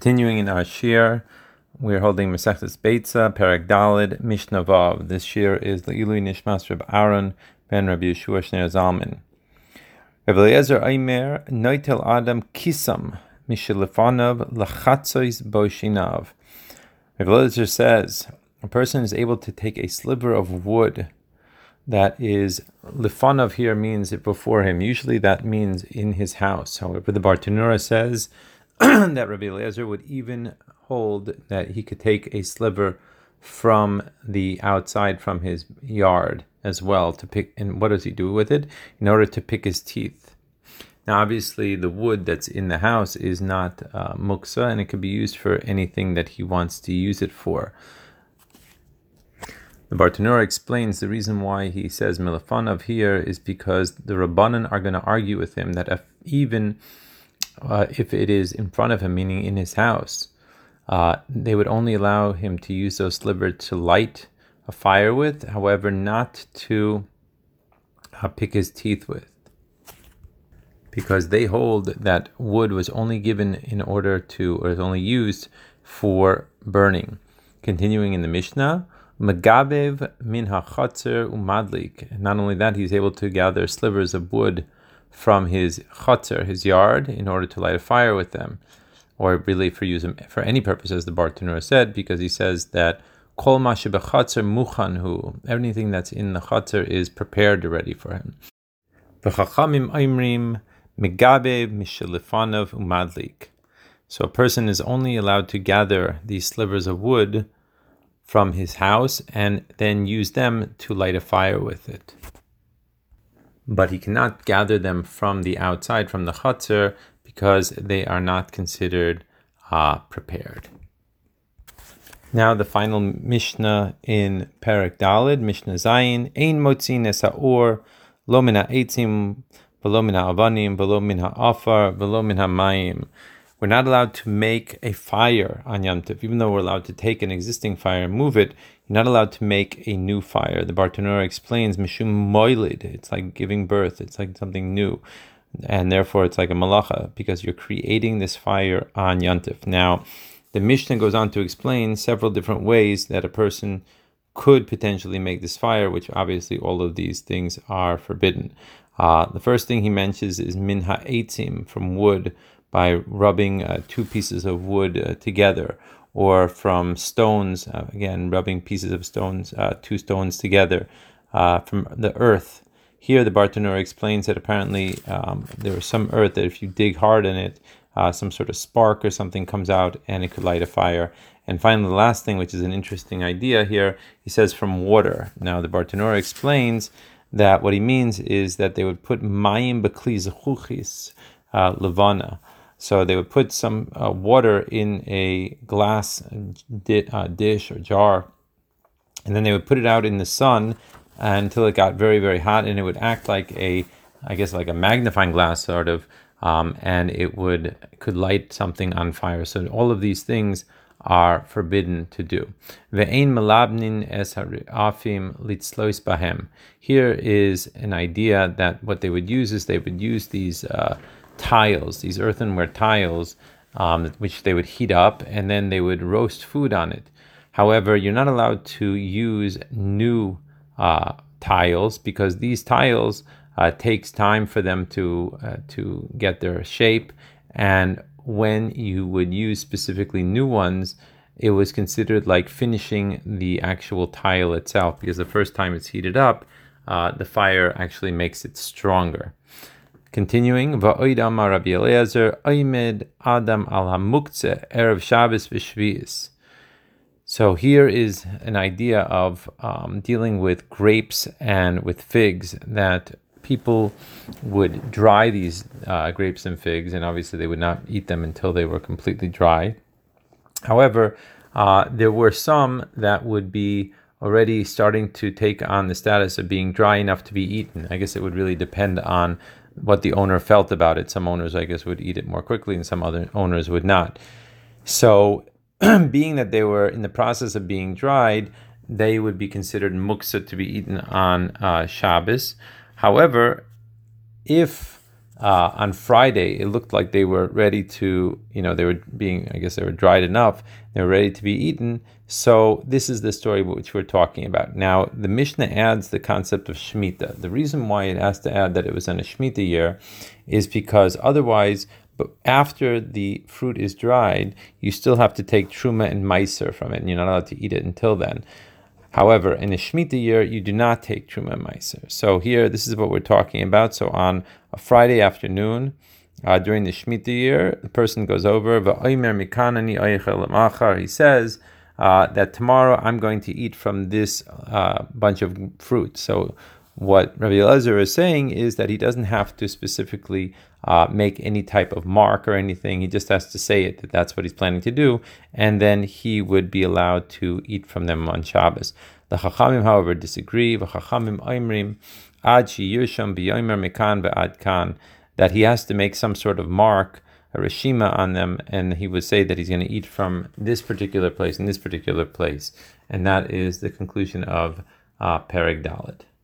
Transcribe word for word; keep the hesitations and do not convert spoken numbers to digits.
Continuing in our shir, we're holding Masechtas Beitza, Perek Daled, Mishnah Vav. This shir is Le'ilui Nishmas Reb Aaron ben Rabbi Yeshua Shneir Zalman. Reb Eliezer Aimer, Noitel Adam Kisam, Mishelefanav Lachatzois Boshinav. Reb Eliezer says, a person is able to take a sliver of wood that is, Lefanav here means before him. Usually that means in his house. However, the Bartanura says that Rabbi Eliezer would even hold that he could take a sliver from the outside, from his yard as well, to pick. And what does he do with it? In order to pick his teeth. Now, obviously, the wood that's in the house is not uh, muksa, and it could be used for anything that he wants to use it for. The Bartanura explains the reason why he says Milafanav here is because the Rabbanan are going to argue with him that if even uh, if it is in front of him, meaning in his house, uh, they would only allow him to use those slivers to light a fire with, however, not to uh, pick his teeth with. Because they hold that wood was only given in order to, or is only used for burning. Continuing in the Mishnah, Megabev min hachatzer umadlik. Not only that, he's able to gather slivers of wood from his chatzer, his yard, in order to light a fire with them, or really for use for any purpose, as the Bartanura said, because he says that kol ma shebechatzer muchanhu, anything that's in the chatzer is prepared already for him. V'chachamim aimrim megabev mishelefanav umadlik. So a person is only allowed to gather these slivers of wood from his house and then use them to light a fire with it. But he cannot gather them from the outside, from the chutzner, because they are not considered uh, prepared. Now the final Mishnah in Perek Daled, Mishnah Zayin, Ein motzin es ha'or, lo min ha'etzim, v'lo min ha'avanim, v'lo min ha'afar, v'lo min ha'mayim. We're not allowed to make a fire on Yom Tov, even though we're allowed to take an existing fire and move it. You're not allowed to make a new fire. The Bartanura explains, Mishum moilid, it's like giving birth, it's like something new, and therefore it's like a malacha, because you're creating this fire on Yom Tov. Now, the Mishnah goes on to explain several different ways that a person could potentially make this fire, which obviously all of these things are forbidden. Uh, the first thing he mentions is min ha'etzim, from wood, by rubbing uh, two pieces of wood uh, together, or from stones, uh, again, rubbing pieces of stones, uh, two stones together, uh, from the earth. Here the Bartanura explains that apparently um, there is some earth that if you dig hard in it, uh, some sort of spark or something comes out and it could light a fire. And finally, the last thing, which is an interesting idea here, he says from water. Now the Bartanura explains that what he means is that they would put mayim b'kli zechuchis levana. So they would put some uh, water in a glass di- uh, dish or jar, and then they would put it out in the sun until it got very, very hot, and it would act like a, I guess, like a magnifying glass, sort of, um, and it would could light something on fire. So all of these things are forbidden to do. Ve'ein melabnin es ha'afim litzlois bahem. Here is an idea that what they would use is they would use these uh, tiles, these earthenware tiles, um, which they would heat up, and then they would roast food on it. However, you're not allowed to use new uh, tiles, because these tiles uh, takes time for them to uh, to get their shape, and when you would use specifically new ones, it was considered like finishing the actual tile itself, because the first time it's heated up, uh, the fire actually makes it stronger. Continuing, Va'oid amar Rabbi Eliezer, Oimed Adam al hamuktzeh erev Shabbos v'shvi'is. So here is an idea of um, dealing with grapes and with figs, that people would dry these uh, grapes and figs, and obviously they would not eat them until they were completely dry. However, uh, there were some that would be already starting to take on the status of being dry enough to be eaten. I guess it would really depend on what the owner felt about it. Some owners, I guess, would eat it more quickly, and some other owners would not. So, being that they were in the process of being dried, they would be considered muksa to be eaten on uh, Shabbos. However, if uh, on Friday, it looked like they were ready to, you know, they were being, I guess they were dried enough, they were ready to be eaten. So this is the story which we're talking about. Now, the Mishnah adds the concept of Shemitah. The reason why it has to add that it was in a Shemitah year is because otherwise, but after the fruit is dried, you still have to take Truma and Meiser from it, and you're not allowed to eat it until then. However, in a Shemitah year, you do not take Truma and Meiser. So here, this is what we're talking about. So on a Friday afternoon, uh, during the Shemitah year, the person goes over, he says uh, that tomorrow I'm going to eat from this uh, bunch of fruit. So what Rabbi Elazar is saying is that he doesn't have to specifically uh, make any type of mark or anything. He just has to say it, that that's what he's planning to do, and then he would be allowed to eat from them on Shabbos. The Chachamim, however, disagree. V'chachamim oimrim ad sheyirsham b'yomer mikan ve'ad kan, that he has to make some sort of mark, a reshima on them, and he would say that he's going to eat from this particular place and this particular place. And that is the conclusion of uh, Perek Dalet.